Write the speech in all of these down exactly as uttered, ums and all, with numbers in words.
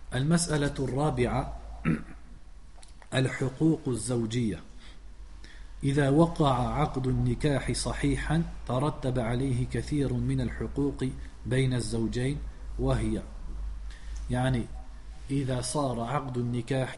المسألة الرابعة الحقوق الزوجية. إذا وقع عقد النكاح صحيحا ترتب عليه كثير من الحقوق بين الزوجين، وهي يعني إذا صار عقد النكاح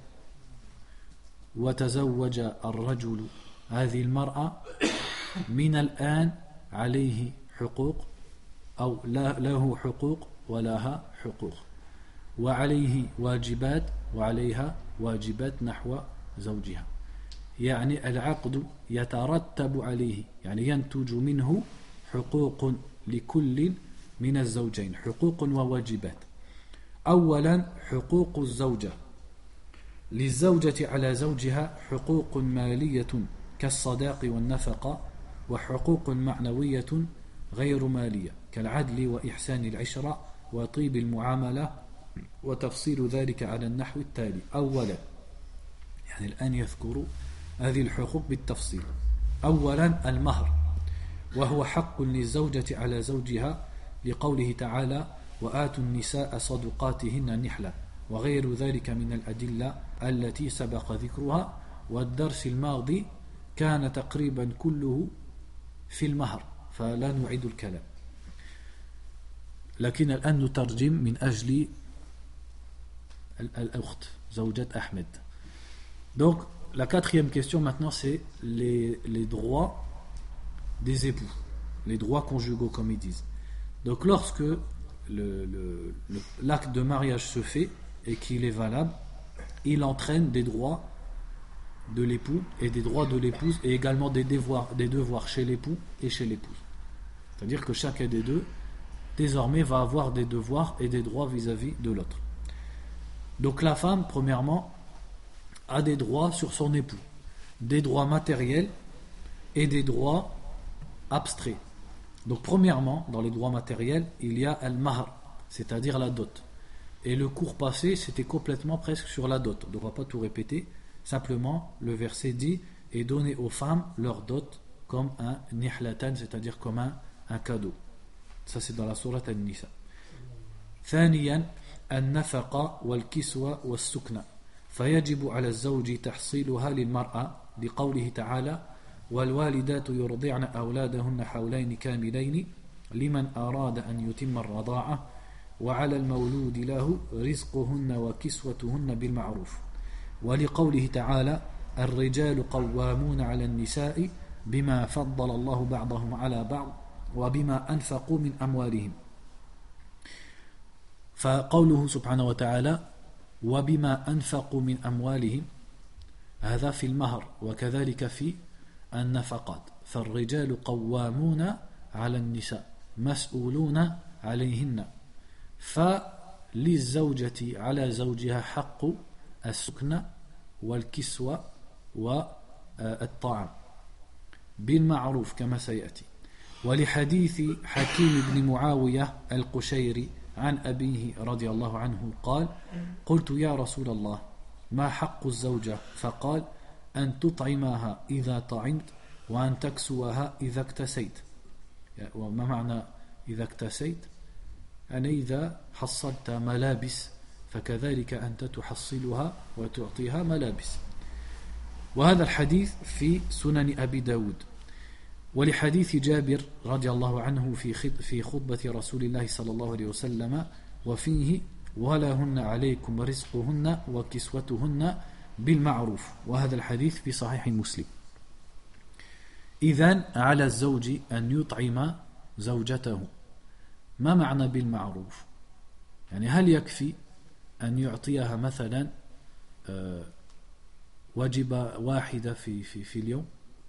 وتزوج الرجل هذه المرأة، من الآن عليه حقوق أو له حقوق ولها حقوق، وعليه واجبات وعليها واجبات نحو زوجها. يعني العقد يترتب عليه، يعني ينتج منه حقوق لكل من الزوجين، حقوق وواجبات. أولا حقوق الزوجة، للزوجة على زوجها حقوق مالية كالصداق والنفقة، وحقوق معنوية غير مالية كالعدل وإحسان العشرة وطيب المعاملة، وتفصيل ذلك على النحو التالي. أولا، يعني الآن يذكر هذه الحقوق بالتفصيل. أولا المهر، وهو حق للزوجة على زوجها لقوله تعالى وآتوا النساء صدقاتهن نحلة، وغير ذلك من الأدلة التي سبق ذكرها، والدرس الماضي كان تقريبا كله في المهر فلا نعيد الكلام، لكن الآن نترجم من أجل الأخت زوجة أحمد. Donc la quatrième question maintenant, c'est les, les droits des époux, les droits conjugaux comme ils disent. Donc lorsque le, le, le, l'acte de mariage se fait et qu'il est valable, il entraîne des droits de l'époux et des droits de l'épouse, et également des devoirs, des devoirs chez l'époux et chez l'épouse. C'est-à-dire que chacun des deux désormais va avoir des devoirs et des droits vis-à-vis de l'autre. Donc la femme, premièrement, a des droits sur son époux, des droits matériels et des droits abstraits. Donc premièrement, dans les droits matériels, il y a al-mahr, c'est-à-dire la dot. Et le cours passé, c'était complètement presque sur la dot. Donc on ne va pas tout répéter, simplement le verset dit et donner aux femmes leur dot comme un nihlatan, c'est-à-dire comme un, un cadeau. Ça c'est dans la sourate An-Nisa. ثانيا النفقة والكسوة والسكنة، فيجب على الزوج تحصيلها للمرأة لقوله تعالى والوالدات يرضعن أولادهن حولين كاملين لمن أراد أن يتم الرضاعة وعلى المولود له رزقهن وكسوتهن بالمعروف، ولقوله تعالى الرجال قوامون على النساء بما فضل الله بعضهم على بعض وبما أنفقوا من أموالهم. فقوله سبحانه وتعالى وبما أنفقوا من أموالهم هذا في المهر، وكذلك في النفقات. فالرجال قوامون على النساء مسؤولون عليهن، فللزوجة على زوجها حق السكنة والكسوة والطعام بالمعروف كما سيأتي. ولحديث حكيم بن معاوية القشيري عن أبيه رضي الله عنه قال قلت يا رسول الله ما حق الزوجة؟ فقال أن تطعمها إذا طعمت وأن تكسوها إذا اكتسيت. وما معنى إذا اكتسيت؟ أن إذا حصلت ملابس فكذلك أنت تحصلها وتعطيها ملابس. وهذا الحديث في سنن أبي داود. ولحديث جابر رضي الله عنه في في خطبة رسول الله صلى الله عليه وسلم وفيه ولهن عليكم رزقهن وكسوتهن بالمعروف، وهذا الحديث في صحيح مسلم. إذن على الزوج أن يطعم زوجته. ما معنى بالمعروف؟ يعني هل يكفي أن يعطيها مثلا وجبة واحدة في في في اليوم؟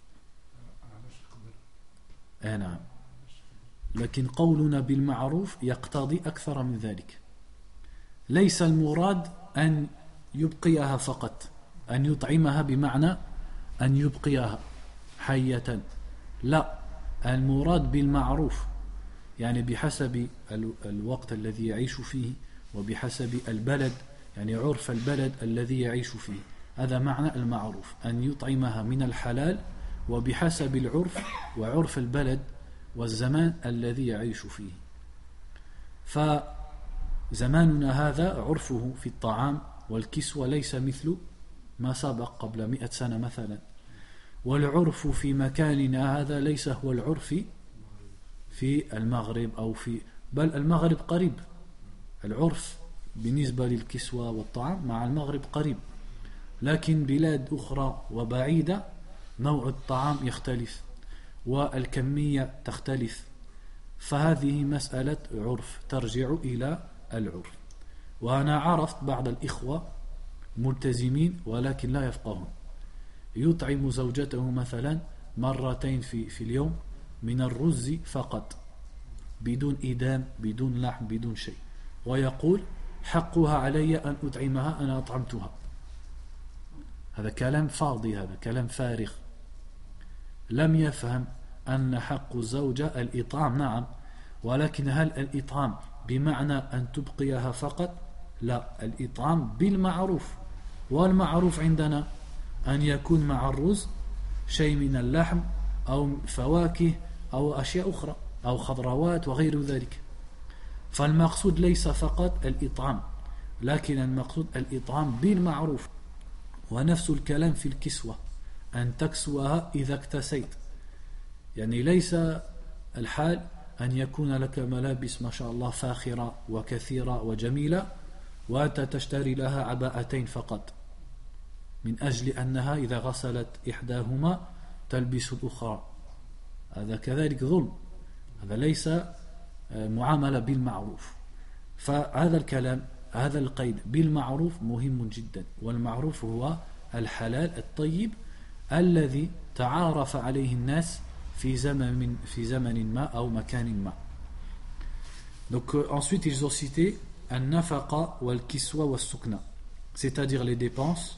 آه نعم، لكن قولنا بالمعروف يقتضي أكثر من ذلك. ليس المراد أن يبقيها فقط، أن يطعمها بمعنى أن يبقيها حية، لا، المراد بالمعروف يعني بحسب الوقت الذي يعيش فيه وبحسب البلد، يعني عرف البلد الذي يعيش فيه، هذا معنى المعروف، أن يطعمها من الحلال وبحسب العرف وعرف البلد والزمان الذي يعيش فيه. زماننا هذا عرفه في الطعام والكسوة ليس مثل ما سبق قبل مئة سنة مثلا. والعرف في مكاننا هذا ليس هو العرف في المغرب أو في بل المغرب قريب. العرف بالنسبة للكسوة والطعام مع المغرب قريب، لكن بلاد أخرى وبعيدة نوع الطعام يختلف والكمية تختلف، فهذه مسألة عرف ترجع إلى العرف. وأنا عرفت بعض الإخوة ملتزمين ولكن لا يفقهون، يطعم زوجته مثلا مرتين في, في اليوم من الرز فقط بدون إدام بدون لحم بدون شيء، ويقول حقها علي أن أطعمها أنا أطعمتها. هذا كلام فاضي، هذا كلام فارغ. لم يفهم أن حق الزوجة الإطعام، نعم، ولكن هل الإطعام بمعنى أن تبقيها فقط؟ لا، الإطعام بالمعروف، والمعروف عندنا أن يكون مع الرز شيء من اللحم أو فواكه أو أشياء أخرى أو خضروات وغير ذلك. فالمقصود ليس فقط الإطعام، لكن المقصود الإطعام بالمعروف. ونفس الكلام في الكسوة، أن تكسوها إذا اكتسيت، يعني ليس الحال أن يكون لك ملابس ما شاء الله فاخرة وكثيرة وجميلة وأنت تشتري لها عباءتين فقط من أجل أنها إذا غسلت إحداهما تلبس الأخرى. هذا كذلك ظلم، هذا ليس معاملة بالمعروف. فهذا الكلام، هذا القيد بالمعروف مهم جدا، والمعروف هو الحلال الطيب الذي تعارف عليه الناس في زمن في زمن ما أو مكان ما. Donc euh, ensuite ils ont cité an-nafaqa wal-kiswa was-sukna, c'est-à-dire les dépenses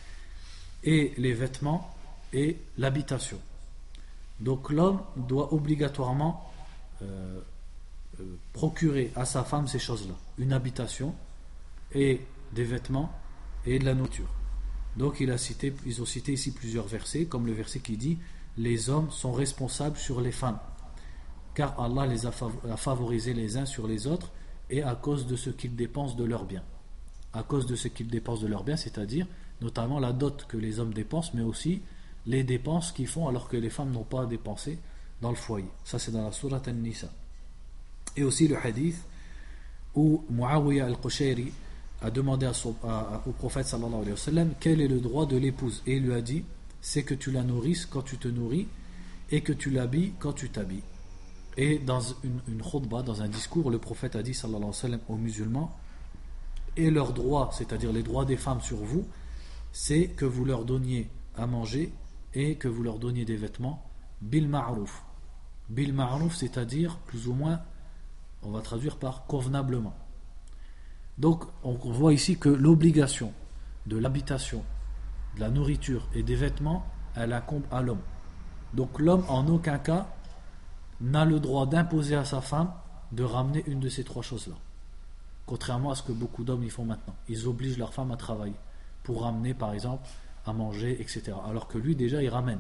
et les vêtements et l'habitation. Donc l'homme doit obligatoirement euh, euh, procurer à sa femme ces choses-là, une habitation et des vêtements et de la nourriture. Donc il a cité, ils ont cité ici plusieurs versets, comme le verset qui dit les hommes sont responsables sur les femmes, car Allah les a favorisés les uns sur les autres, et à cause de ce qu'ils dépensent de leurs biens. À cause de ce qu'ils dépensent de leurs biens, c'est-à-dire notamment la dot que les hommes dépensent, mais aussi les dépenses qu'ils font alors que les femmes n'ont pas dépensé dans le foyer. Ça c'est dans la sourate An-Nisa. Et aussi le hadith où Muawiyah al-Qushayri a demandé à son, à, au prophète sallallahu alayhi wa sallam quel est le droit de l'épouse, et il lui a dit c'est que tu la nourrisses quand tu te nourris et que tu l'habilles quand tu t'habilles. Et dans une, une khutbah, dans un discours, le prophète a dit sallallahu alayhi wa sallam aux musulmans, et leurs droits, c'est-à-dire les droits des femmes sur vous, c'est que vous leur donniez à manger et que vous leur donniez des vêtements bil ma'rouf. Bil ma'rouf, c'est-à-dire plus ou moins, on va traduire par convenablement. Donc on voit ici que l'obligation de l'habitation, de la nourriture et des vêtements, elle incombe à l'homme. Donc l'homme en aucun cas n'a le droit d'imposer à sa femme de ramener une de ces trois choses-là. Contrairement à ce que beaucoup d'hommes y font maintenant. Ils obligent leur femme à travailler pour ramener par exemple à manger, et cetera. Alors que lui déjà il ramène.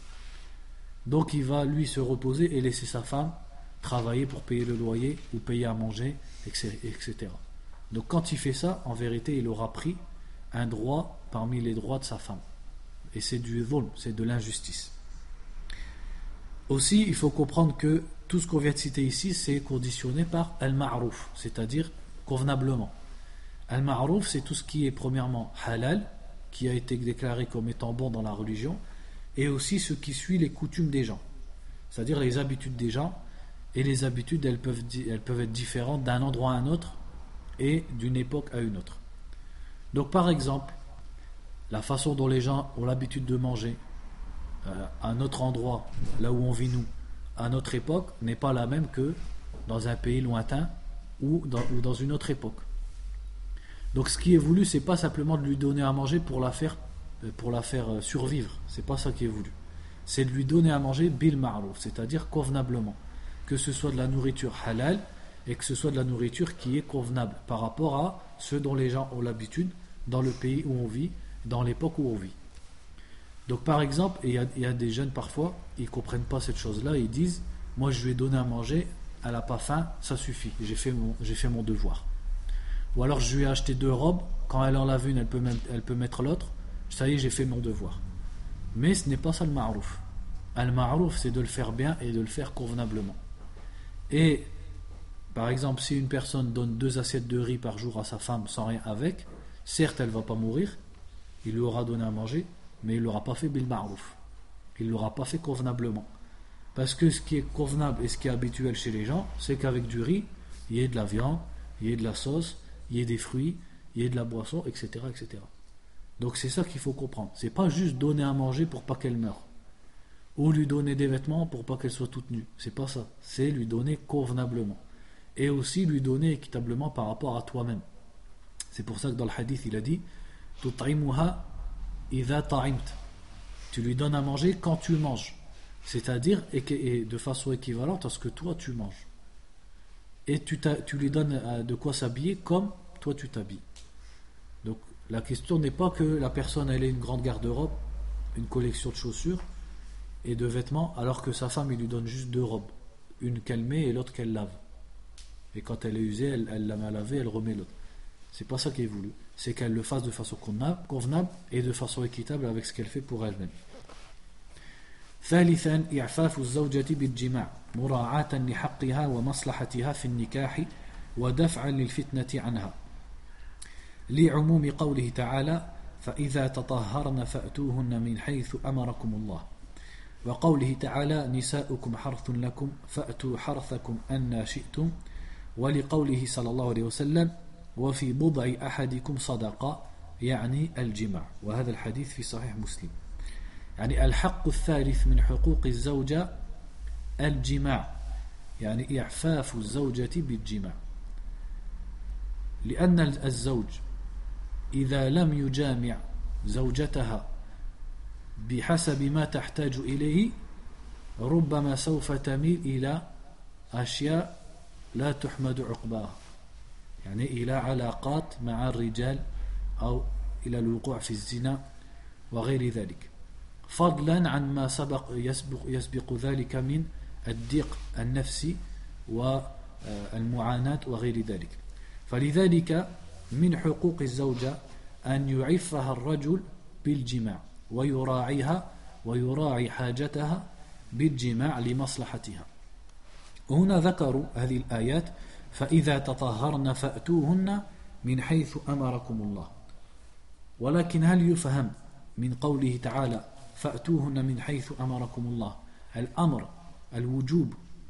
Donc il va lui se reposer et laisser sa femme travailler pour payer le loyer ou payer à manger, et cetera. Donc quand il fait ça, en vérité il aura pris un droit parmi les droits de sa femme. Et c'est du dhulm, c'est de l'injustice. Aussi, il faut comprendre que tout ce qu'on vient de citer ici, c'est conditionné par al-ma'rouf, c'est-à-dire convenablement. Al-ma'rouf, c'est tout ce qui est premièrement halal, qui a été déclaré comme étant bon dans la religion, et aussi ce qui suit les coutumes des gens, c'est-à-dire les habitudes des gens. Et les habitudes, elles peuvent, elles peuvent être différentes d'un endroit à un autre et d'une époque à une autre. Donc par exemple, la façon dont les gens ont l'habitude de manger euh, à un autre endroit, là où on vit nous, à notre époque, n'est pas la même que dans un pays lointain ou dans, ou dans une autre époque. Donc ce qui est voulu, c'est pas simplement de lui donner à manger pour la faire, pour la faire survivre, c'est pas ça qui est voulu. C'est de lui donner à manger bil ma'rouf, c'est-à-dire convenablement. Que ce soit de la nourriture halal et que ce soit de la nourriture qui est convenable par rapport à ce dont les gens ont l'habitude dans le pays où on vit, dans l'époque où on vit. Donc par exemple, il y a, il y a des jeunes parfois, ils ne comprennent pas cette chose-là, ils disent moi je lui ai donné à manger, elle n'a pas faim, ça suffit, j'ai fait mon, j'ai fait mon devoir. Ou alors je lui ai acheté deux robes, quand elle en lave une, elle peut, même, elle peut mettre l'autre, ça y est, j'ai fait mon devoir. Mais ce n'est pas ça le ma'rouf. Al-ma'rouf, c'est de le faire bien et de le faire convenablement. Et, par exemple, si une personne donne deux assiettes de riz par jour à sa femme sans rien avec, certes, elle ne va pas mourir, il lui aura donné à manger, mais il ne l'aura pas fait bil ma'rouf. Il ne l'aura pas fait convenablement. Parce que ce qui est convenable et ce qui est habituel chez les gens, c'est qu'avec du riz, il y ait de la viande, il y ait de la sauce, il y ait des fruits, il y ait de la boisson, et cetera, et cetera. Donc c'est ça qu'il faut comprendre. C'est pas juste donner à manger pour pas qu'elle meure, ou lui donner des vêtements pour pas qu'elle soit toute nue. C'est pas ça. C'est lui donner convenablement, et aussi lui donner équitablement par rapport à toi-même. C'est pour ça que dans le hadith il a dit tut'imuha idha ta'imt. Tu lui donnes à manger quand tu manges, c'est-à-dire et de façon équivalente à ce que toi tu manges. Et tu, tu lui donnes de quoi s'habiller comme toi tu t'habilles. Donc la question n'est pas que la personne elle ait une grande garde-robe, une collection de chaussures et de vêtements, alors que sa femme il lui donne juste deux robes, une qu'elle met et l'autre qu'elle lave. Et quand elle est usée, elle, elle la met à laver, elle remet l'autre. C'est pas ça qui est voulu. C'est qu'elle le fasse de façon convenable et de façon équitable avec ce qu'elle fait pour elle-même. ثالثا إعفاف الزوجة بالجماع مراعاة لحقها ومصلحتها في النكاح ودفعا للفتنة عنها لعموم قوله تعالى فإذا تطهرن فأتوهن من حيث أمركم الله وقوله تعالى نساؤكم حرث لكم فأتوا حرثكم أن شئتم ولقوله صلى الله عليه وسلم وفي بضع أحدكم صدقة يعني الجماع وهذا الحديث في صحيح مسلم. يعني الحق الثالث من حقوق الزوجة الجماع يعني إعفاف الزوجة بالجماع لأن الزوج إذا لم يجامع زوجتها بحسب ما تحتاج إليه ربما سوف تميل إلى أشياء لا تحمد عقباها يعني إلى علاقات مع الرجال أو إلى الوقوع في الزنا وغير ذلك فضلا عن ما سبق يسبق, يسبق ذلك من الضيق النفسي والمعاناة وغير ذلك. فلذلك من حقوق الزوجة أن يعفها الرجل بالجماع ويراعيها ويراعي حاجتها بالجماع لمصلحتها. وهنا ذكروا هذه الآيات فإذا تطهرن فأتوهن من حيث أمركم الله. ولكن هل يفهم من قوله تعالى فأتوهن من حيث أمركم الله الأمر الوجوب؟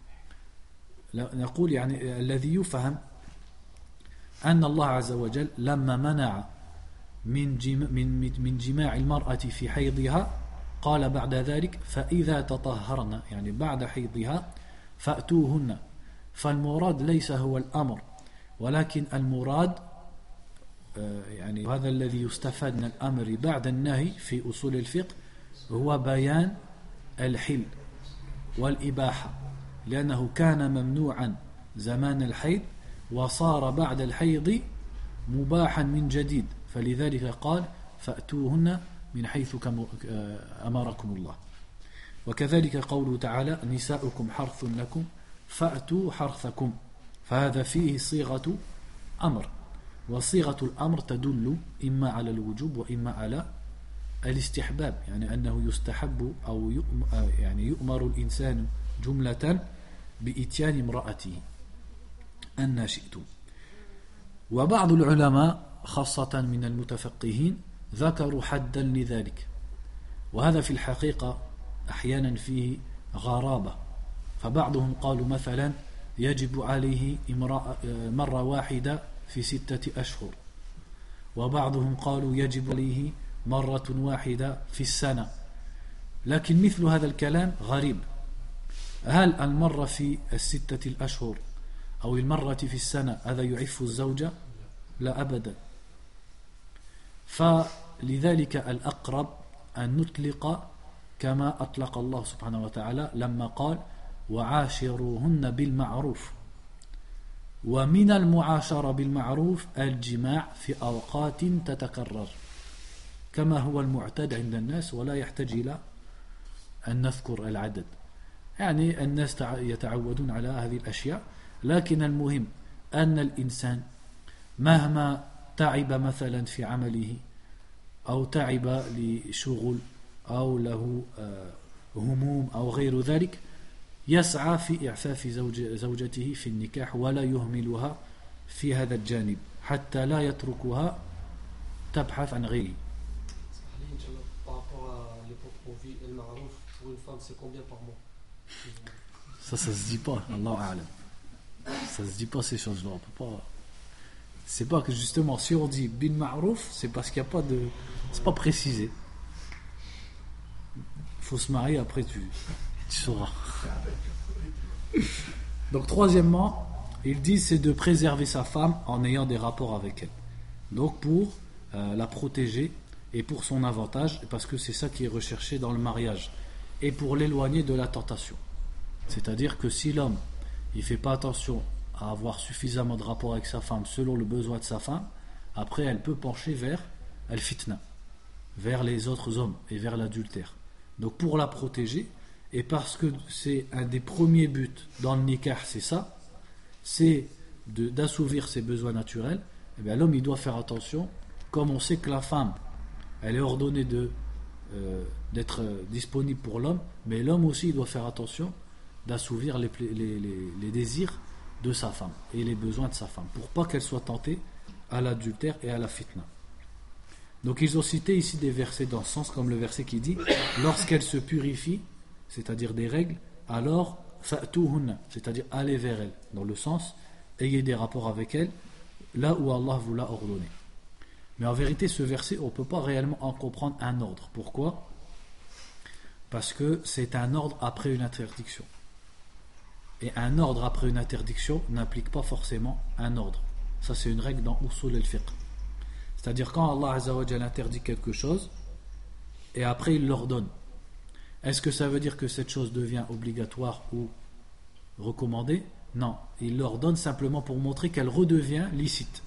نقول يعني الذي يفهم أن الله عز وجل لما منع من من من جماع المرأة في حيضها قال بعد ذلك فإذا تطهرن يعني بعد حيضها فأتوهن. فالمراد ليس هو الأمر ولكن المراد يعني هذا الذي يستفاد من الأمر بعد النهي في أصول الفقه هو بيان الحل والإباحة لأنه كان ممنوعا زمان الحيض وصار بعد الحيض مباحا من جديد فلذلك قال فأتوهن من حيث أمركم الله. وكذلك قوله تعالى نساؤكم حرث لكم فأتوا حرثكم فهذا فيه صيغة أمر وصيغة الأمر تدل إما على الوجوب وإما على الاستحباب يعني أنه يستحب أو يعني يؤمر الإنسان جملة بإتيان امرأته أن شئتم. وبعض العلماء خاصة من المتفقهين ذكروا حدا لذلك وهذا في الحقيقة أحيانا فيه غرابة فبعضهم قالوا مثلا يجب عليه مرة واحدة في ستة أشهر وبعضهم قالوا يجب عليه مرة واحدة في السنة. لكن مثل هذا الكلام غريب. هل المرة في الستة الأشهر أو المرة في السنة هذا يعف الزوجة؟ لا أبدا. فلذلك الأقرب أن نطلق كما أطلق الله سبحانه وتعالى لما قال وعاشروهن بالمعروف. ومن المعاشرة بالمعروف الجماع في أوقات تتكرر كما هو المعتاد عند الناس ولا يحتاج إلى أن نذكر العدد يعني الناس يتعودون على هذه الأشياء. لكن المهم أن الإنسان مهما تعب مثلا في عمله أو تعب لشغل أو له هموم أو غير ذلك يسعى في إعفاف زوج زوجته في النكاح ولا يهملها في هذا الجانب حتى لا يتركها تبحث عن غيره. Par rapport à l'époque qu'on vit, El Ma'rouf, pour une femme, c'est combien par mois? Ça, ça se dit pas, Allahu A'lam. Ça se dit pas ces choses-là. On peut pas. C'est pas que justement, si on dit Bil Ma'rouf, c'est parce qu'il n'y a pas de. C'est pas précisé. Il faut se marier, après tu, tu sauras. Donc, troisièmement, ils disent c'est de préserver sa femme en ayant des rapports avec elle. Donc, pour euh, la protéger et pour son avantage, parce que c'est ça qui est recherché dans le mariage, et pour l'éloigner de la tentation. C'est-à-dire que si l'homme il fait pas attention à avoir suffisamment de rapports avec sa femme selon le besoin de sa femme, après elle peut pencher vers al-fitna, vers les autres hommes et vers l'adultère. Donc pour la protéger, et parce que c'est un des premiers buts dans le nikah, c'est ça, c'est de, d'assouvir ses besoins naturels, et bien l'homme il doit faire attention, comme on sait que la femme elle est ordonnée de, euh, d'être disponible pour l'homme, mais l'homme aussi il doit faire attention d'assouvir les, les, les, les désirs de sa femme et les besoins de sa femme, pour pas qu'elle soit tentée à l'adultère et à la fitna. Donc ils ont cité ici des versets dans ce sens, comme le verset qui dit lorsqu'elle se purifie, c'est-à-dire des règles, alors fa'tuhunna, c'est-à-dire allez vers elle, dans le sens ayez des rapports avec elle là où Allah vous l'a ordonné. Mais en vérité ce verset on ne peut pas réellement en comprendre un ordre. Pourquoi? Parce que c'est un ordre après une interdiction. Et un ordre après une interdiction n'implique pas forcément un ordre. Ça c'est une règle dans Usul al-Fiqh. C'est-à-dire quand Allah Azza wa Jalla interdit quelque chose et après il l'ordonne, est-ce que ça veut dire que cette chose devient obligatoire ou recommandée? Non, il l'ordonne simplement pour montrer qu'elle redevient licite.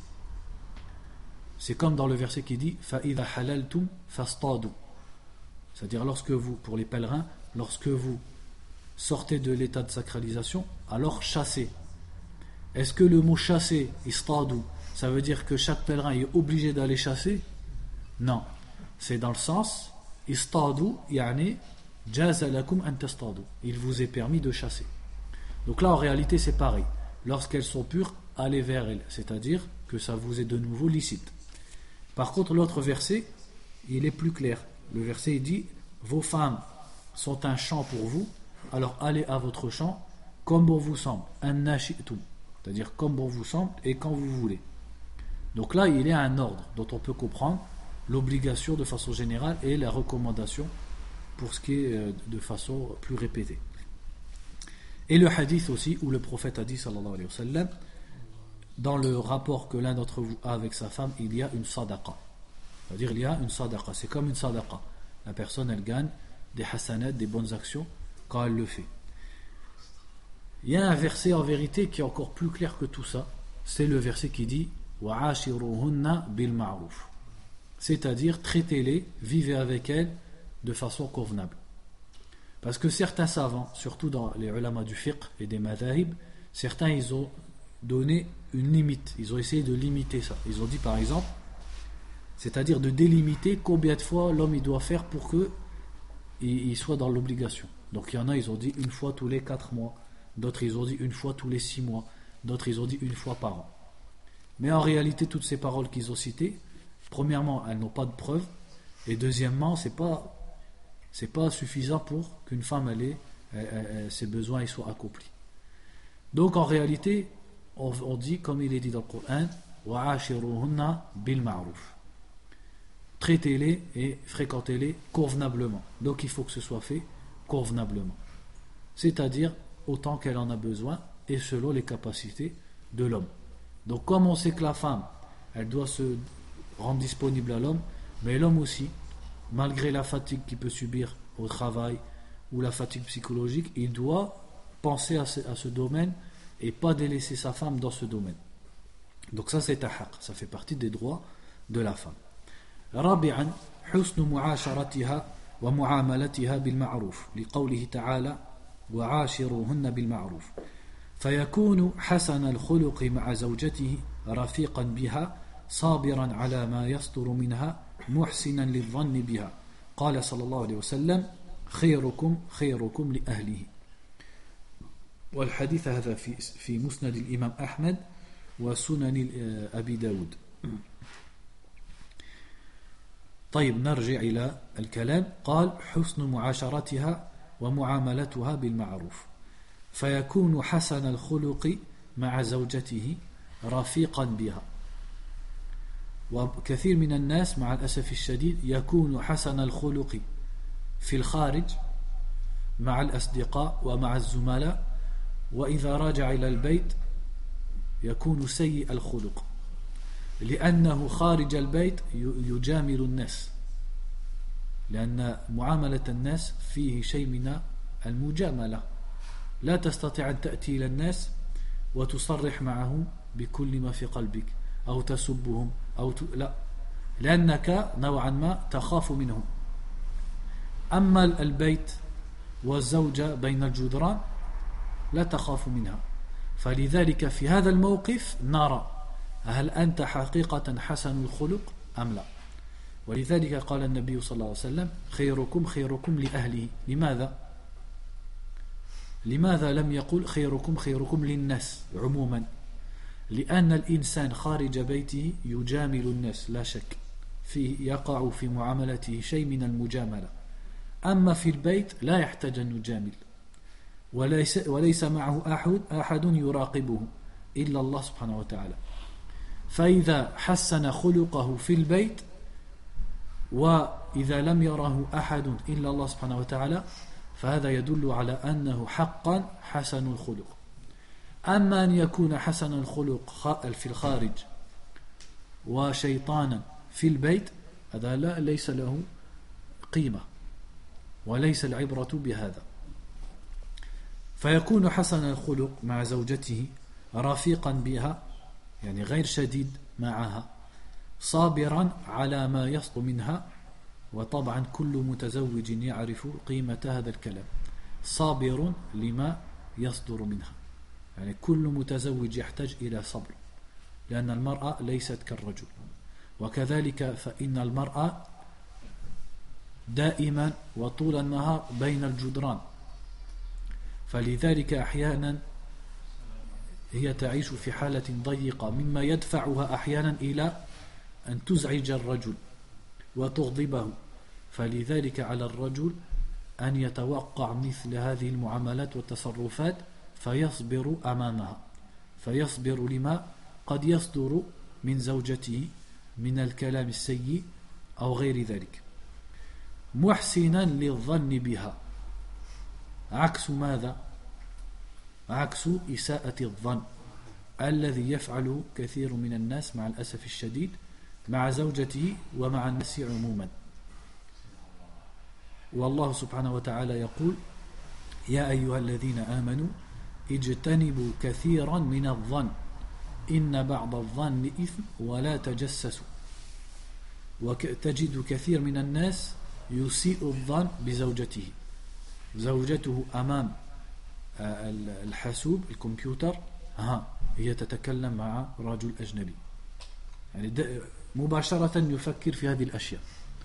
C'est comme dans le verset qui dit فَإِذَا حَلَلْتُمْ فَاصْطَادُوا, c'est-à-dire lorsque vous, pour les pèlerins, lorsque vous sortez de l'état de sacralisation, alors chassez. Est-ce que le mot chasser, istadou, ça veut dire que chaque pèlerin est obligé d'aller chasser? Non. C'est dans le sens istadou, yani jaza lakum an tastadu. Il vous est permis de chasser. Donc là en réalité c'est pareil. Lorsqu'elles sont pures, allez vers elles, c'est-à-dire que ça vous est de nouveau licite. Par contre l'autre verset, il est plus clair. Le verset il dit vos femmes sont un champ pour vous, alors allez à votre champ comme bon vous semble, an-nashi'tum, c'est-à-dire comme bon vous semble et quand vous voulez. Donc là il y a un ordre dont on peut comprendre l'obligation de façon générale et la recommandation pour ce qui est de façon plus répétée. Et le hadith aussi où le prophète a dit sallallahu alayhi wa sallam, dans le rapport que l'un d'entre vous a avec sa femme, il y a une sadaqa. C'est-à-dire il y a une sadaqa, c'est comme une sadaqa. La personne elle gagne des hasanat, des bonnes actions quand elle le fait. Il y a un verset en vérité qui est encore plus clair que tout ça, c'est le verset qui dit wa'ashiruhunna bil ma'ruf, c'est-à-dire traitez-les, vivez avec elles de façon convenable. Parce que certains savants, surtout dans les ulama du fiqh et des madhahib, certains ils ont donné une limite, ils ont essayé de limiter ça. Ils ont dit par exemple, c'est-à-dire de délimiter combien de fois l'homme il doit faire pour que il soit dans l'obligation. Donc il y en a ils ont dit une fois tous les quatre mois, d'autres ils ont dit une fois tous les six mois, d'autres ils ont dit une fois par an. Mais en réalité toutes ces paroles qu'ils ont citées, premièrement elles n'ont pas de preuve, et deuxièmement c'est pas c'est pas suffisant pour qu'une femme elle ait, elle, elle, ses besoins ils soient accomplis. Donc en réalité on, on dit comme il est dit dans le Coran wa'ashiruhunna bil ma'ruf, traitez-les et fréquentez-les convenablement. Donc il faut que ce soit fait convenablement, c'est-à-dire autant qu'elle en a besoin et selon les capacités de l'homme. Donc comme on sait que la femme elle doit se rendre disponible à l'homme, mais l'homme aussi, malgré la fatigue qu'il peut subir au travail ou la fatigue psychologique, il doit penser à ce, à ce domaine et pas délaisser sa femme dans ce domaine. Donc ça c'est un haq, ça fait partie des droits de la femme. رابعا حسن معاشرتها ومعاملتها بالمعروف لقوله تعالى وعاشروهن بالمعروف فيكون حسن الخلق مع زوجته رفيقا بها صابرا على ما يصدر منها محسنا للظن بها قال صلى الله عليه وسلم خيركم خيركم لأهله. والحديث هذا في في مسند الإمام أحمد وسنن أبي داود. طيب نرجع إلى الكلام. قال حسن معاشرتها ومعاملتها بالمعروف فيكون حسن الخلق مع زوجته رفيقا بها. وكثير من الناس مع الأسف الشديد يكون حسن الخلق في الخارج مع الأصدقاء ومع الزملاء، وإذا راجع إلى البيت يكون سيء الخلق لأنه خارج البيت يجامل الناس، لأن معاملة الناس فيه شيء من المجاملة. لا تستطيع أن تأتي إلى الناس وتصرح معهم بكل ما في قلبك أو تسبهم أو ت... لا، لأنك نوعا ما تخاف منهم. أما البيت والزوجة بين الجدران لا تخاف منها. فلذلك في هذا الموقف نرى هل أنت حقيقة حسن الخلق أم لا. ولذلك قال النبي صلى الله عليه وسلم خيركم خيركم لأهله. لماذا؟ لماذا لم يقل خيركم خيركم للناس عموما؟ لأن الإنسان خارج بيته يجامل الناس لا شك، فيه يقع في معاملته شيء من المجاملة. أما في البيت لا يحتاج أن يجامل، وليس, وليس معه أحد, أحد يراقبه إلا الله سبحانه وتعالى. فإذا حسن خلقه في البيت وإذا لم يره أحد إلا الله سبحانه وتعالى فهذا يدل على أنه حقا حسن الخلق. أما أن يكون حسن الخلق في الخارج وشيطانا في البيت هذا لا ليس له قيمة وليس العبرة بهذا. فيكون حسن الخلق مع زوجته رفيقا بها، يعني غير شديد معها، صابرا على ما يصدر منها. وطبعا كل متزوج يعرف قيمة هذا الكلام، صابر لما يصدر منها. يعني كل متزوج يحتاج إلى صبر، لأن المرأة ليست كالرجل. وكذلك فإن المرأة دائما وطول النهار بين الجدران، فلذلك أحيانا هي تعيش في حالة ضيقة مما يدفعها أحيانا إلى أن تزعج الرجل وتغضبه. فلذلك على الرجل أن يتوقع مثل هذه المعاملات والتصرفات فيصبر أمامها، فيصبر لما قد يصدر من زوجته من الكلام السيء أو غير ذلك. محسنا للظن بها، عكس ماذا؟ عكس إساءة الظن الذي يفعله كثير من الناس مع الأسف الشديد مع زوجته ومع الناس عموما. والله سبحانه وتعالى يقول يا أيها الذين آمنوا اجتنبوا كثيرا من الظن إن بعض الظن إثم ولا تجسسوا. وتجد كثير من الناس يسيء الظن بزوجته، زوجته أمام الحاسوب الكمبيوتر ها هي تتكلم مع رجل أجنبي، يعني مباشرة يفكر في هذه الأشياء.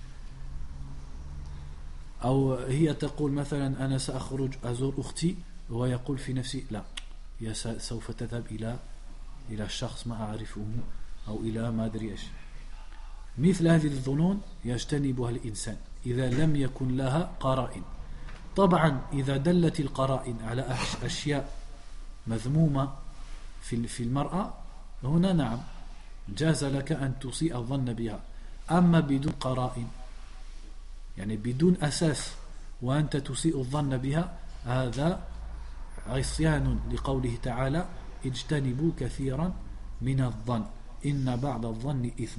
أو هي تقول مثلا أنا سأخرج أزور أختي، وهو يقول في نفسي لا، هي سوف تذهب إلى إلى الشخص ما أعرفه أو إلى ما أدري إيش. مثل هذه الظنون يجتنبها الإنسان إذا لم يكن لها قرائن. طبعا إذا دلت القرائن على أشياء مذمومة في في المرأة هنا نعم جاز لك أن تسيء الظن بها. أما بدون قرائن، يعني بدون أساس وأنت تسيء الظن بها، هذا عصيان لقوله تعالى اجتنبوا كثيرا من الظن إن بعض الظن إثم.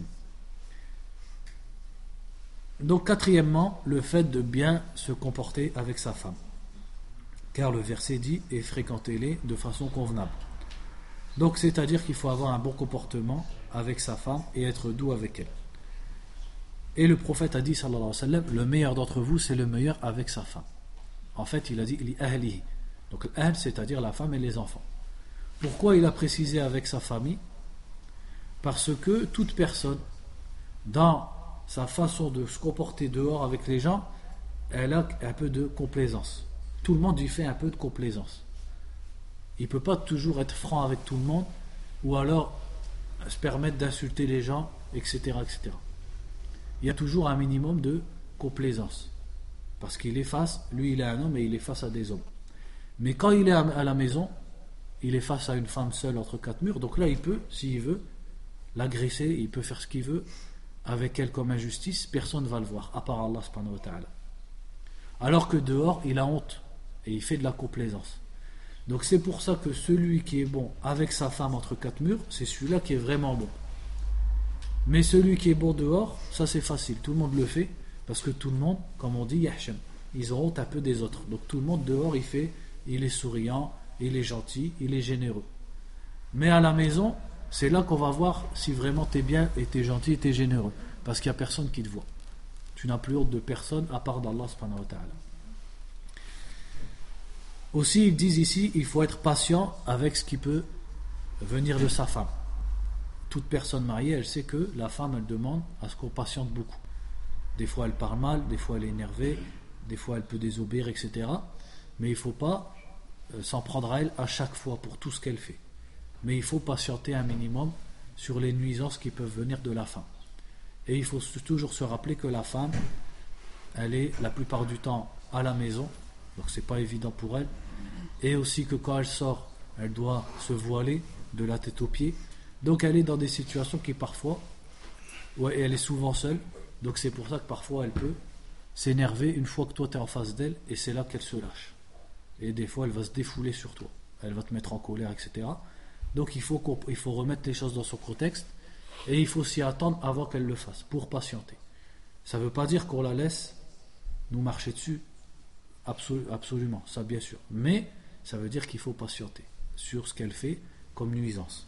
Donc quatrièmement, le fait de bien se comporter avec sa femme, car le verset dit et fréquentez-les de façon convenable. Donc c'est-à-dire qu'il faut avoir un bon comportement avec sa femme et être doux avec elle. Et le prophète a dit sallallahu alayhi wa sallam, le meilleur d'entre vous c'est le meilleur avec sa femme. En fait il a dit li ahlihi, donc l'ahl c'est-à-dire la femme et les enfants. Pourquoi il a précisé avec sa famille? Parce que toute personne, dans sa façon de se comporter dehors avec les gens, elle a un peu de complaisance. Tout le monde lui fait un peu de complaisance. Il ne peut pas toujours être franc avec tout le monde, ou alors se permettre d'insulter les gens, et cetera, et cetera. Il y a toujours un minimum de complaisance. Parce qu'il est face, lui il est un homme et il est face à des hommes. Mais quand il est à la maison, il est face à une femme seule entre quatre murs, donc là il peut, s'il veut, l'agresser, il peut faire ce qu'il veut avec elle comme injustice, personne ne va le voir, à part Allah subhanahu wa ta'ala. Alors que dehors, il a honte et il fait de la complaisance. Donc c'est pour ça que celui qui est bon avec sa femme entre quatre murs, c'est celui-là qui est vraiment bon. Mais celui qui est bon dehors, ça c'est facile, tout le monde le fait, parce que tout le monde, comme on dit, yahsham, ils ont honte un peu des autres. Donc tout le monde dehors, il fait, il est souriant, il est gentil, il est généreux. Mais à la maison, c'est là qu'on va voir si vraiment tu es bien et tu es gentil et tu es généreux. Parce qu'il n'y a personne qui te voit. Tu n'as plus honte de personne à part d'Allah subhanahu wa ta'ala. Aussi, ils disent ici, il faut être patient avec ce qui peut venir de sa femme. Toute personne mariée, elle sait que la femme, elle demande à ce qu'on patiente beaucoup. Des fois, elle parle mal, des fois, elle est énervée, des fois, elle peut désobéir, et cetera. Mais il ne faut pas s'en prendre à elle à chaque fois pour tout ce qu'elle fait. Mais il faut patienter un minimum sur les nuisances qui peuvent venir de la femme. Et il faut toujours se rappeler que la femme, elle est la plupart du temps à la maison, donc c'est pas évident pour elle. Et aussi que quand elle sort, elle doit se voiler de la tête aux pieds. Donc elle est dans des situations qui parfois, ouais, elle est souvent seule. Donc c'est pour ça que parfois elle peut s'énerver une fois que toi tu es en face d'elle, et c'est là qu'elle se lâche. Et des fois elle va se défouler sur toi. Elle va te mettre en colère, et cetera. Donc il faut, il faut remettre les choses dans son contexte. Et il faut s'y attendre avant qu'elle le fasse, pour patienter. Ça ne veut pas dire qu'on la laisse nous marcher dessus, absolu, absolument, ça bien sûr. Mais ça veut dire qu'il faut patienter sur ce qu'elle fait comme nuisance.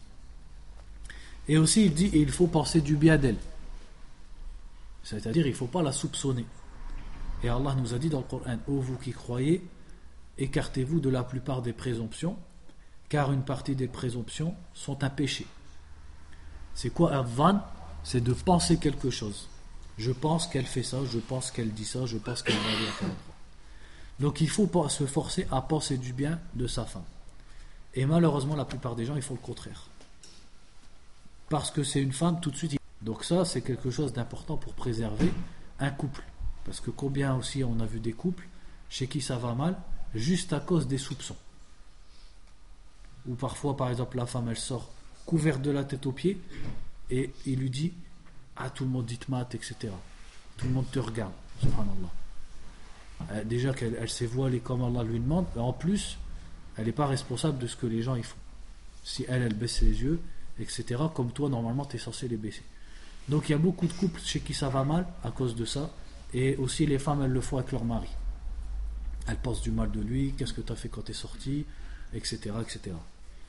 Et aussi il dit, il faut penser du bien d'elle. C'est-à-dire il ne faut pas la soupçonner. Et Allah nous a dit dans le Coran, ô vous qui croyez, écartez-vous de la plupart des présomptions, car une partie des présomptions sont un péché. C'est quoi un van? C'est de penser quelque chose. Je pense qu'elle fait ça, je pense qu'elle dit ça, je pense qu'elle va aller à tel endroit. Donc il faut se forcer à penser du bien de sa femme. Et malheureusement, la plupart des gens, ils font le contraire. Parce que c'est une femme, tout de suite. Donc ça, c'est quelque chose d'important pour préserver un couple. Parce que combien aussi on a vu des couples chez qui ça va mal, juste à cause des soupçons. Ou parfois, par exemple, la femme, elle sort couverte de la tête aux pieds, et il lui dit, ah, tout le monde dit mat, et cetera. Tout le monde te regarde, subhanallah. Euh, déjà qu'elle elle s'est voilée comme Allah lui demande, et en plus, elle n'est pas responsable de ce que les gens y font. Si elle, elle baisse les yeux, et cetera, comme toi, normalement, tu es censé les baisser. Donc il y a beaucoup de couples chez qui ça va mal à cause de ça, et aussi les femmes, elles le font avec leur mari. Elles pensent du mal de lui, qu'est-ce que tu as fait quand tu es sorti, et cetera, et cetera.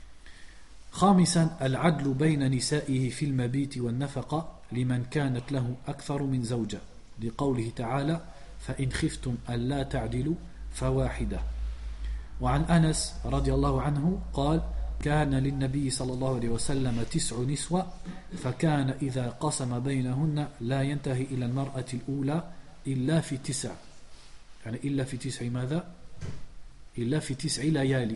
خامسا العدل بين نسائه في المبيت والنفقة لمن كانت له أكثر من زوجة لقوله تعالى فإن خفتم ألا تعدلوا فواحدة. وعن أنس رضي الله عنه قال كان للنبي صلى الله عليه وسلم تسع نسوة فكان إذا قسم بينهن لا ينتهي إلى المرأة الأولى إلا في تسع يعني إلا في تسع ماذا؟ إلا في تسع ليالي.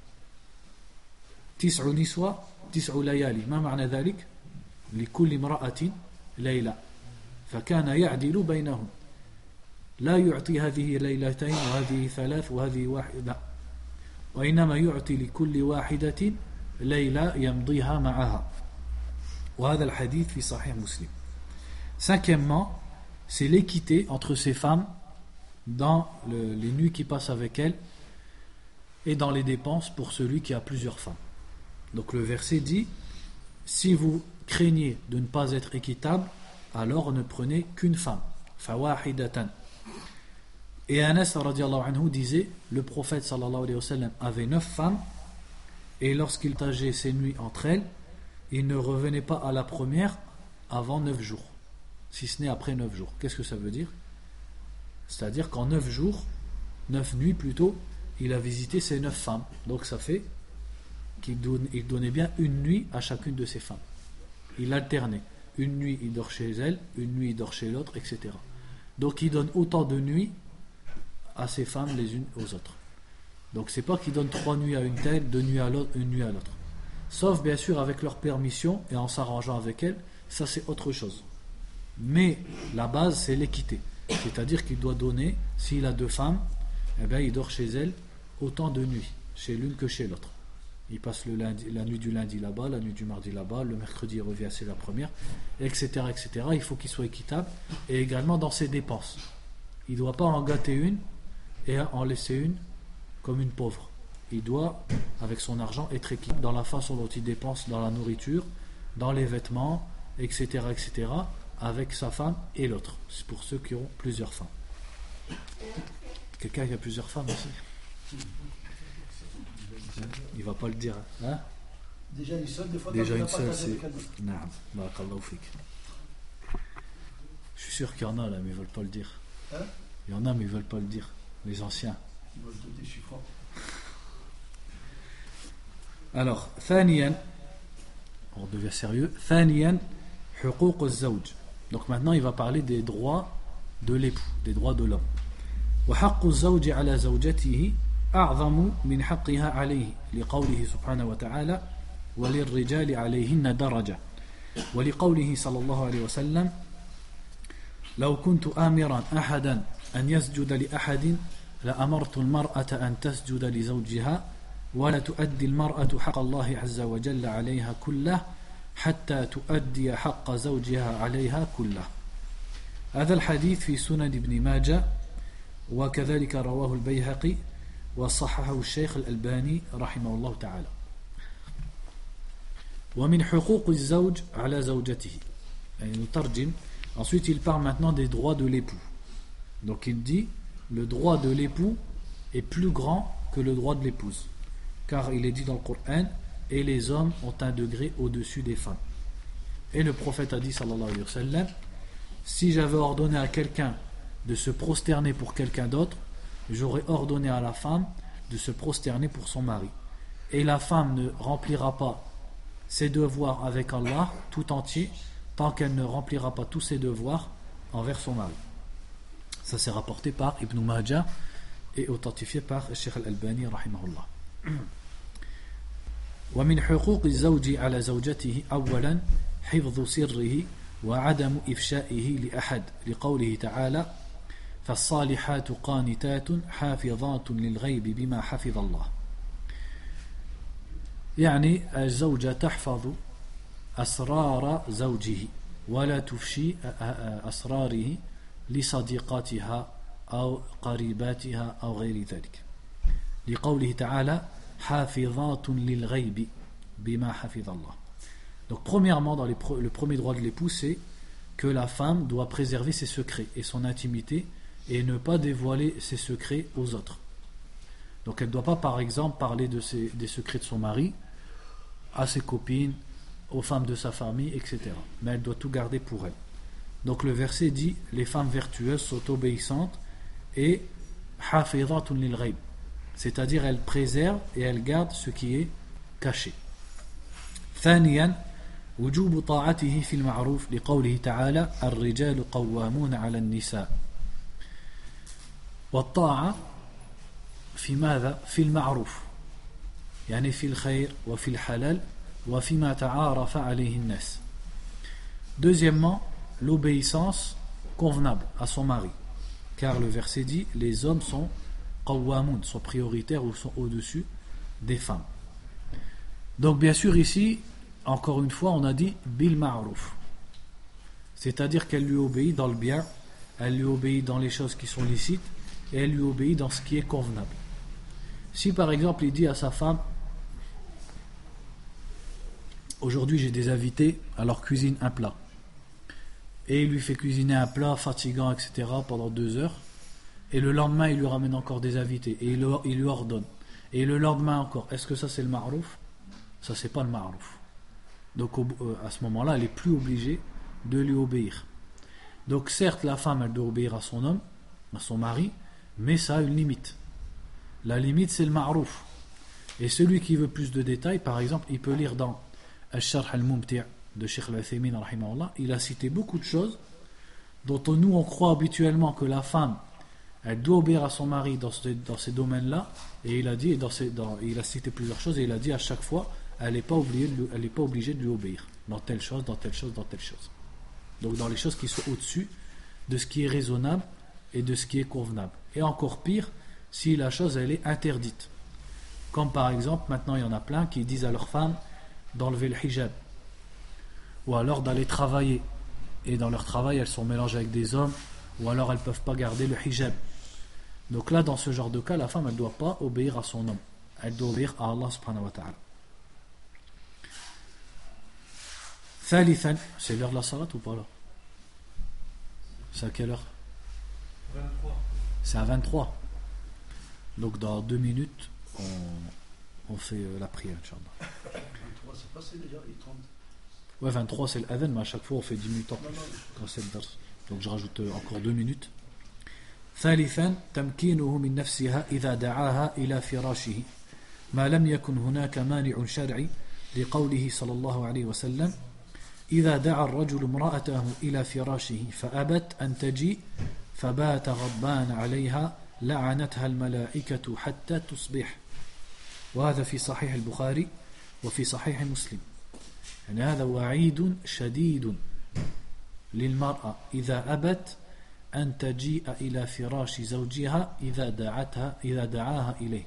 تسع نسوة تسع ليالي ما معنى ذلك؟ لكل امرأة ليلة فكان يعدل بينهم لا يعطي هذه ليلتين وهذه ثلاث وهذه واحدة وإنما يعطي لكل واحدة ليلة يمضيها معها وهذا الحديث في صحيح مسلم. Cinquièmement, c'est l'équité entre ces femmes dans le, les nuits qui passent avec elles et dans les dépenses pour celui qui a plusieurs femmes. Donc le verset dit, si vous craignez de ne pas être équitable, alors ne prenez qu'une femme. Fawahidatan. Et Anas radiallahu anhu disait, le prophète sallallahu alayhi wa sallam avait neuf femmes, et lorsqu'il partageait ses nuits entre elles, il ne revenait pas à la première avant neuf jours, si ce n'est après neuf jours. Qu'est-ce que ça veut dire? C'est-à-dire qu'en neuf jours, neuf nuits plutôt, il a visité ses neuf femmes. Donc ça fait qu'il donne, il donnait bien une nuit à chacune de ses femmes. il alternait. Une nuit, il dort chez elle, une nuit, il dort chez l'autre, et cetera. Donc, il donne autant de nuits à ses femmes les unes aux autres. Donc, c'est pas qu'il donne trois nuits à une telle, deux nuits à l'autre, une nuit à l'autre. Sauf, bien sûr, avec leur permission et en s'arrangeant avec elles, ça, c'est autre chose. Mais la base, c'est l'équité. C'est-à-dire qu'il doit donner, s'il a deux femmes, eh bien, il dort chez elles autant de nuits, chez l'une que chez l'autre. Il passe le lundi, la nuit du lundi là-bas, la nuit du mardi là-bas, le mercredi il revient, c'est la première, et cetera, et cetera. Il faut qu'il soit équitable, et également dans ses dépenses. Il ne doit pas en gâter une et en laisser une comme une pauvre. Il doit, avec son argent, être équitable dans la façon dont il dépense dans la nourriture, dans les vêtements, et cetera, et cetera, avec sa femme et l'autre. C'est pour ceux qui ont plusieurs femmes. Quelqu'un qui a plusieurs femmes aussi? Il va pas le dire. Hein? Déjà une seule, des fois, Déjà une seule, c'est. Non, barakallahu fik. Je suis sûr qu'il y en a là, mais ils veulent pas le dire. Hein? Il y en a, mais ils veulent pas le dire. Les anciens. Ils veulent te déchiffrer. Alors, ثانيا, on devient sérieux. ثانيا, حقوق الزوج. Donc maintenant, il va parler des droits de l'époux, des droits de l'homme. وحق الزوج على زوجته أعظم من حقها عليه لقوله سبحانه وتعالى وللرجال عليهن درجة ولقوله صلى الله عليه وسلم لو كنت آمرا أحدا أن يسجد لأحد لأمرت المرأة أن تسجد لزوجها ولا تؤدي المرأة حق الله عز وجل عليها كله حتى تؤدي حق زوجها عليها كله. هذا الحديث في سنن ابن ماجه وكذلك رواه البيهقي وصححه الشيخ الألباني رحمه الله تعالى. ومن حقوق الزوج على زوجته. يعني نترجم. Ensuite, il parle maintenant des droits de l'époux. Donc, il dit le droit de l'époux est plus grand que le droit de l'épouse. Car il est dit dans le Coran, et les hommes ont un degré au-dessus des femmes. Et le prophète a dit, sallallahu alayhi wa sallam, si j'avais ordonné à quelqu'un de se prosterner pour quelqu'un d'autre, j'aurais ordonné à la femme de se prosterner pour son mari. Et la femme ne remplira pas ses devoirs avec Allah tout entier tant qu'elle ne remplira pas tous ses devoirs envers son mari. Ça c'est rapporté par Ibn Majah et authentifié par Cheikh Al-Albani rahimahullah. ومن حقوق الزوج على زوجته أولا حفظ سره وعدم إفشائه لأحد لقوله تعالى فالصالحات قانتات حافظات للغيب بما حفظ الله. يعني الزوجة تحفظ أسرار زوجه ولا تفشي أسراره لصديقاتها أو قريباتها أو غير ذلك لقوله تعالى حافظات للغيب بما حفظ الله. Donc premièrement dans les pro- le premier droit de l'époux c'est que la femme doit préserver ses secrets et son intimité et ne pas dévoiler ses secrets aux autres. Donc elle ne doit pas par exemple parler de ses, des secrets de son mari à ses copines, aux femmes de sa famille, et cetera. Mais elle doit tout garder pour elle. Donc le verset dit les femmes vertueuses sont obéissantes et hafizatun lil ghaib, c'est-à-dire elles préservent et elles gardent ce qui est caché. ثانيا وجوب طاعته في المعروف لقوله تعالى الرجال قوامون على النساء. والطاعة في ماذا؟ في المعروف يعني في الخير وفي الحلال وفيما تعارف عليه الناس. Deuxièmement, l'obéissance convenable à son mari. Car le verset dit les hommes sont qawwamun, sont prioritaires ou sont au-dessus des femmes. Donc bien sûr ici, encore une fois, on a dit bil ma'ruf. C'est-à-dire qu'elle lui obéit dans le bien, elle lui obéit dans les choses qui sont licites et elle lui obéit dans ce qui est convenable. Si par exemple il dit à sa femme aujourd'hui j'ai des invités, alors cuisine un plat. Et il lui fait cuisiner un plat fatigant, et cetera pendant deux heures. Et le lendemain il lui ramène encore des invités et il, le, il lui ordonne. Et le lendemain encore. Est-ce que ça c'est le ma'ruf? Ça c'est pas le ma'ruf. Donc au, euh, à ce moment-là elle est plus obligée de lui obéir. Donc certes la femme elle doit obéir à son homme, à son mari, mais ça a une limite. La limite c'est le ma'ruf. Et celui qui veut plus de détails, par exemple, il peut lire dans Al-Sharh al-Mumti' de Cheikh Al-Uthaymin rahimahullah, il a cité beaucoup de choses dont nous on croit habituellement que la femme elle doit obéir à son mari dans, ce, dans ces domaines-là, et il a dit, dans ces, dans, il a cité plusieurs choses, et il a dit à chaque fois, elle n'est pas, pas obligée de lui obéir, dans telle chose, dans telle chose, dans telle chose. Donc dans les choses qui sont au-dessus de ce qui est raisonnable et de ce qui est convenable. Et encore pire, si la chose elle est interdite. Comme par exemple, maintenant il y en a plein qui disent à leurs femmes d'enlever le hijab, ou alors d'aller travailler, et dans leur travail elles sont mélangées avec des hommes, ou alors elles ne peuvent pas garder le hijab. Donc là, dans ce genre de cas, la femme, elle ne doit pas obéir à son homme. Elle doit obéir à Allah subhanahu wa ta'ala. Thalithan, c'est l'heure de la salat ou pas là? C'est à quelle heure? vingt-trois. C'est à vingt-trois. Donc dans deux minutes, on, on fait euh, la prière, Inch'Allah. vingt-trois, c'est passé déjà, et trente. Ouais, vingt-trois c'est l'adhan, mais à chaque fois on fait dix minutes en Non, plus. non, Quand c'est le dars. Donc je rajoute euh, encore deux minutes. ثالثا تمكينه من نفسها إذا دعاها إلى فراشه ما لم يكن هناك مانع شرعي لقوله صلى الله عليه وسلم إذا دعا الرجل امرأته إلى فراشه فأبت أن تجيء فبات غضبان عليها لعنتها الملائكة حتى تصبح وهذا في صحيح البخاري وفي صحيح مسلم يعني هذا وعيد شديد للمرأة إذا أبت أن تجيء إلى فراش زوجها إذا دعتها إذا دعاها إليه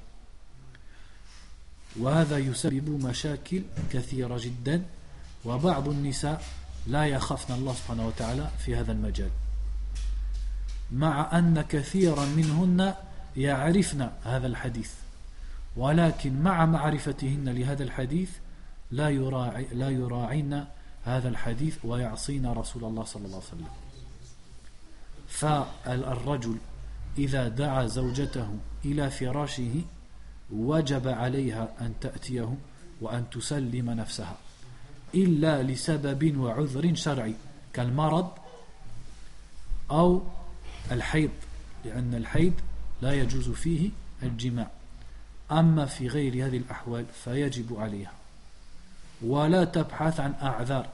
وهذا يسبب مشاكل كثيرة جدا وبعض النساء لا يخافن الله سبحانه وتعالى في هذا المجال مع أن كثيرا منهن يعرفن هذا الحديث ولكن مع معرفتهن لهذا الحديث لا يراعي لا يراعين هذا الحديث ويعصين رسول الله صلى الله عليه وسلم فالرجل إذا دعا زوجته إلى فراشه وجب عليها أن تأتيه وأن تسلم نفسها إلا لسبب وعذر شرعي كالمرض أو الحيض لأن الحيض لا يجوز فيه الجماع أما في غير هذه الأحوال فيجب عليها ولا تبحث عن أعذار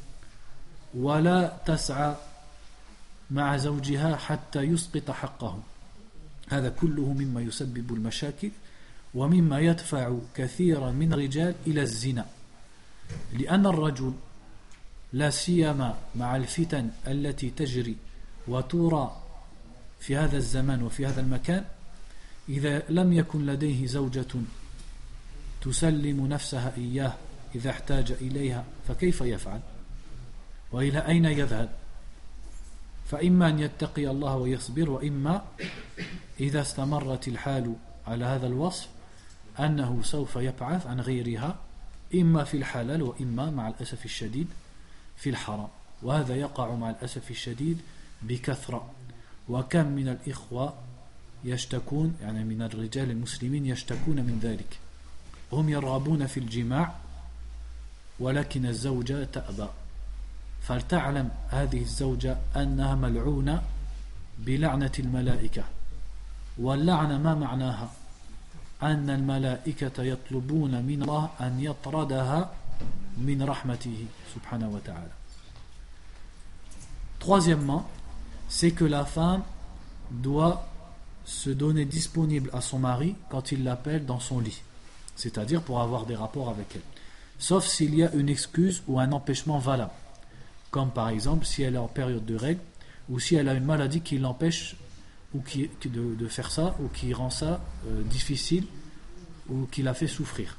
ولا تسعى مع زوجها حتى يسقط حقه هذا كله مما يسبب المشاكل ومما يدفع كثيرا من الرجال إلى الزنا لأن الرجل لا سيما مع الفتن التي تجري وترى في هذا الزمان وفي هذا المكان إذا لم يكن لديه زوجة تسلم نفسها إياه إذا احتاج إليها فكيف يفعل وإلى أين يذهب فإما أن يتقي الله ويصبر وإما إذا استمرت الحال على هذا الوصف أنه سوف يبحث عن غيرها إما في الحلال وإما مع الأسف الشديد في الحرام وهذا يقع مع الأسف الشديد بكثرة وكم من الإخوة يشتكون يعني من الرجال المسلمين يشتكون من ذلك هم يرغبون في الجماع ولكن الزوجة تأبى فلتعلم هذه الزوجة أنها ملعونة بلعنة الملائكة واللعنة ما معناها أن الملائكة يطلبون من الله أن يطردها من رحمته سبحانه وتعالى. Troisièmement, c'est que la femme doit se donner disponible à son mari quand il l'appelle dans son lit, c'est-à-dire pour avoir des rapports avec elle, sauf s'il y a une excuse ou un empêchement valable, comme par exemple si elle est en période de règles ou si elle a une maladie qui l'empêche ou qui, de, de faire ça ou qui rend ça euh, difficile ou qui la fait souffrir.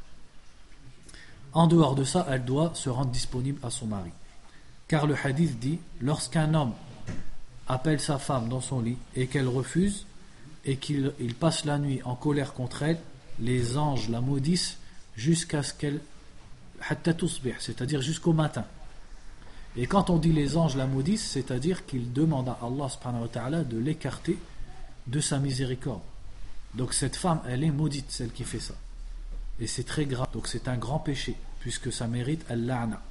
En dehors de ça, elle doit se rendre disponible à son mari. Car le hadith dit, lorsqu'un homme appelle sa femme dans son lit et qu'elle refuse et qu'il il passe la nuit en colère contre elle, les anges la maudissent jusqu'à ce qu'elle hatta tusbih, c'est-à-dire jusqu'au matin. Et quand on dit les anges la maudissent, c'est-à-dire qu'ils demandent à Allah subhanahu wa ta'ala de l'écarter de sa miséricorde. Donc cette femme, elle est maudite, celle qui fait ça. Et c'est très grave, donc c'est un grand péché, puisque ça mérite al-la'na.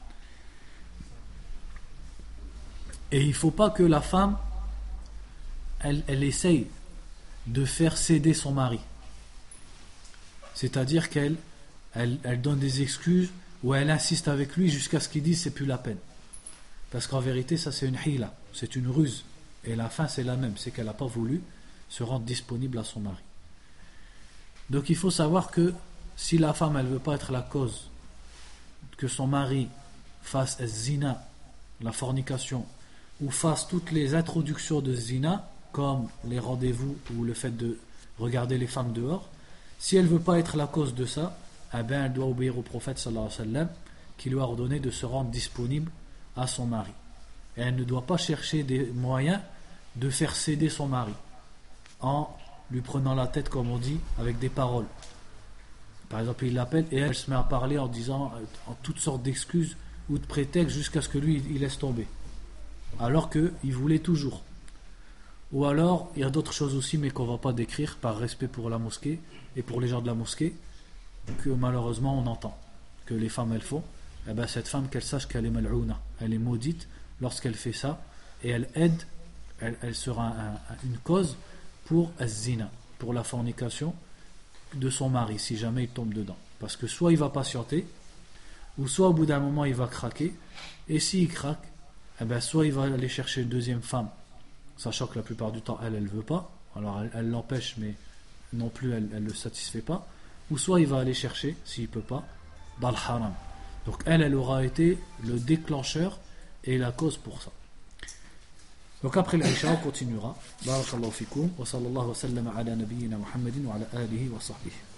Et il ne faut pas que la femme, elle, elle essaye de faire céder son mari. C'est-à-dire qu'elle elle, elle donne des excuses ou elle insiste avec lui jusqu'à ce qu'il dise c'est plus la peine. Parce qu'en vérité, ça c'est une hila, c'est une ruse. Et la fin c'est la même, c'est qu'elle n'a pas voulu se rendre disponible à son mari. Donc il faut savoir que si la femme elle veut pas être la cause que son mari fasse zina, la fornication, ou fasse toutes les introductions de zina, comme les rendez-vous ou le fait de regarder les femmes dehors, si elle veut pas être la cause de ça, eh bien elle doit obéir au prophète sallallahu alayhi wa sallam qui lui a ordonné de se rendre disponible à son mari. Et elle ne doit pas chercher des moyens de faire céder son mari en lui prenant la tête, comme on dit, avec des paroles. Par exemple, il l'appelle et elle se met à parler en disant en toutes sortes d'excuses ou de prétextes jusqu'à ce que lui il laisse tomber, alors qu'il voulait toujours. Ou alors il y a d'autres choses aussi, mais qu'on ne va pas décrire par respect pour la mosquée et pour les gens de la mosquée, que malheureusement on entend que les femmes elles font. Eh ben, cette femme, qu'elle sache qu'elle est mal'ouna, elle est maudite lorsqu'elle fait ça, et elle aide, elle, elle sera un, un, une cause pour az-zina, pour la fornication de son mari, si jamais il tombe dedans. Parce que soit il va patienter, ou soit au bout d'un moment il va craquer, et s'il craque, eh ben, soit il va aller chercher une deuxième femme, sachant que la plupart du temps elle, elle veut pas, alors elle, elle l'empêche, mais non plus elle ne le satisfait pas, ou soit il va aller chercher, s'il peut pas, dans le haram. Donc elle, elle aura été le déclencheur et la cause pour ça. Donc après l'Isha, on continuera. Barakallahu fikum wa sallallahu wa sallam ala nabiyyina Muhammadin wa ala alihi wa sahbihi.